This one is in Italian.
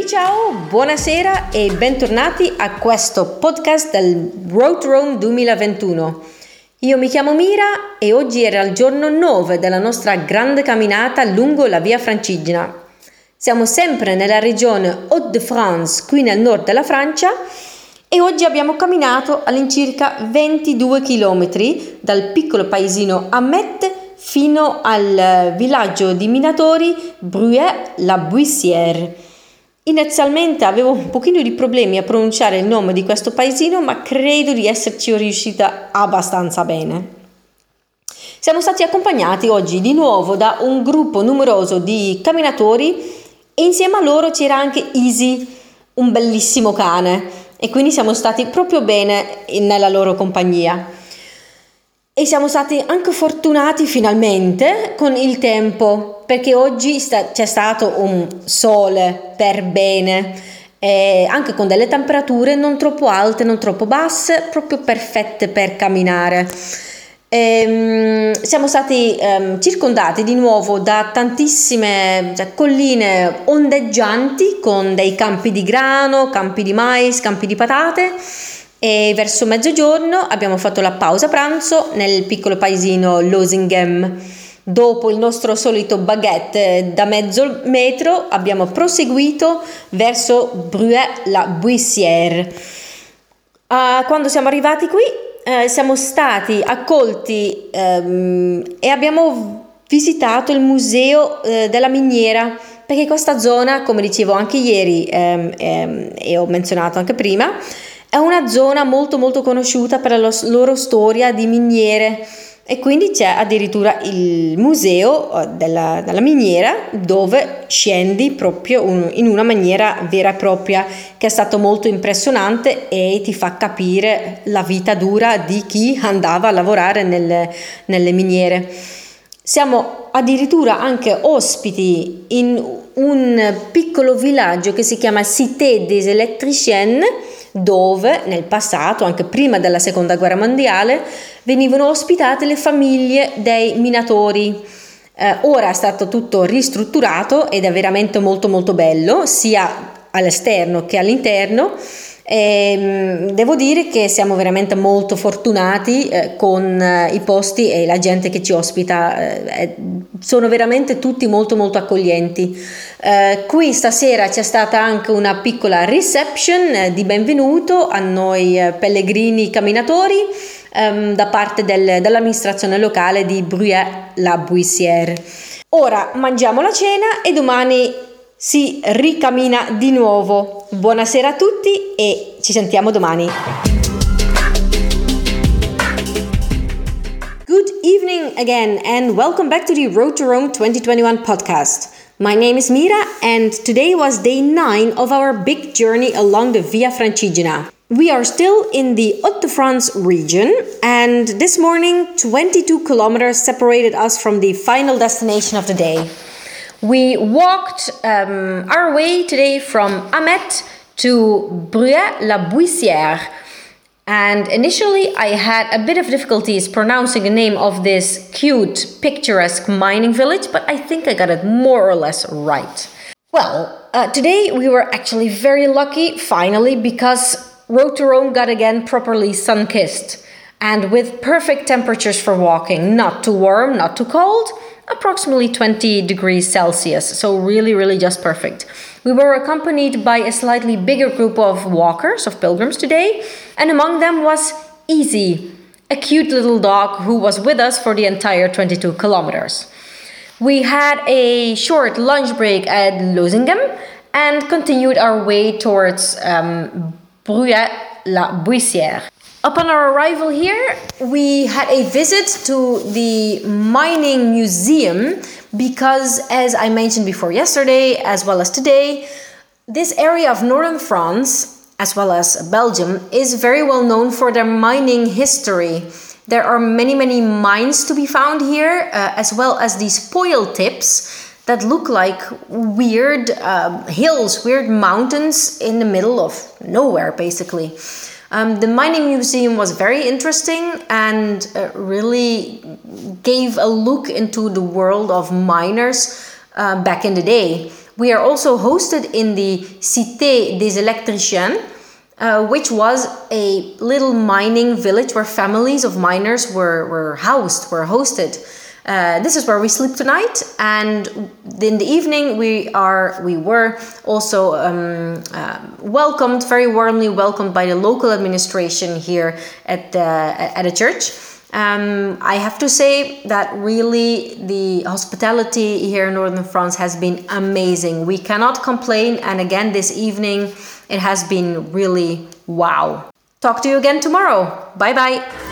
Ciao, buonasera e bentornati a questo podcast del Road to Rome 2021. Io mi chiamo Mira e oggi era il giorno 9 della nostra grande camminata lungo la Via Francigena. Siamo sempre nella regione Hauts-de-France, qui nel nord della Francia, e oggi abbiamo camminato all'incirca 22 km dal piccolo paesino Amet fino al villaggio di minatori Bruay-la-Buissière. Inizialmente avevo un pochino di problemi a pronunciare il nome di questo paesino, ma credo di esserci riuscita abbastanza bene. Siamo stati accompagnati oggi di nuovo da un gruppo numeroso di camminatori e insieme a loro c'era anche Easy, un bellissimo cane, e quindi siamo stati proprio bene nella loro compagnia. E siamo stati anche fortunati finalmente con il tempo, perché oggi c'è stato un sole per bene, anche con delle temperature non troppo alte, non troppo basse, proprio perfette per camminare. Siamo stati circondati di nuovo da tantissime colline ondeggianti con dei campi di grano, campi di mais, campi di patate. E verso mezzogiorno abbiamo fatto la pausa pranzo nel piccolo paesino Losinghem. Dopo il nostro solito baguette da mezzo metro abbiamo proseguito verso Bruay-la-Buissière. Quando siamo arrivati qui siamo stati accolti e abbiamo visitato il museo della miniera, perché questa zona, come dicevo anche ieri e ho menzionato anche prima, è una zona molto molto conosciuta per la loro storia di miniere, e quindi c'è addirittura il museo della miniera dove scendi proprio in una maniera vera e propria, che è stato molto impressionante e ti fa capire la vita dura di chi andava a lavorare nelle miniere. Siamo addirittura anche ospiti in un piccolo villaggio che si chiama Cité des Électriciens, dove nel passato, anche prima della seconda guerra mondiale, venivano ospitate le famiglie dei minatori. Ora è stato tutto ristrutturato ed è veramente molto molto bello, sia all'esterno che all'interno. Devo dire che siamo veramente molto fortunati con i posti e la gente che ci ospita, sono veramente tutti molto molto accoglienti. Qui stasera c'è stata anche una piccola reception di benvenuto a noi pellegrini camminatori da parte dell'amministrazione locale di Bruay-la-Buissière. Ora mangiamo la cena e domani si ricamina di nuovo. Buonasera a tutti e ci sentiamo domani. Good evening again and welcome back to the Road to Rome 2021 podcast. My name is Mira and today was day 9 of our big journey along the Via Francigena. We are still in the Hauts-de-France region, and this morning 22 kilometers separated us from the final destination of the day. We walked our way today from Amet to Bruay-la-Buissière, and initially I had a bit of difficulties pronouncing the name of this cute, picturesque mining village, but I think I got it more or less right. Well, today we were actually very lucky, finally, because Road to Rome got again properly sun-kissed, and with perfect temperatures for walking, not too warm, not too cold, approximately 20 degrees Celsius, so really just perfect. We were accompanied by a slightly bigger group of walkers, of pilgrims today, and among them was Easy, a cute little dog who was with us for the entire 22 kilometers. We had a short lunch break at Losinghem and continued our way towards Bruay-la-Buissière. Upon our arrival here, we had a visit to the mining museum because, as I mentioned before yesterday, as well as today, this area of northern France, as well as Belgium, is very well known for their mining history. There are many mines to be found here, as well as these spoil tips that look like weird hills, weird mountains in the middle of nowhere, basically. The mining museum was very interesting and really gave a look into the world of miners back in the day. We are also hosted in the Cité des Électriciens, which was a little mining village where families of miners were hosted. This is where we sleep tonight, and in the evening we were also welcomed, very warmly welcomed by the local administration here at the church. I have to say that really the hospitality here in northern France has been amazing. We cannot complain, and again this evening it has been really wow. Talk to you again tomorrow. Bye bye.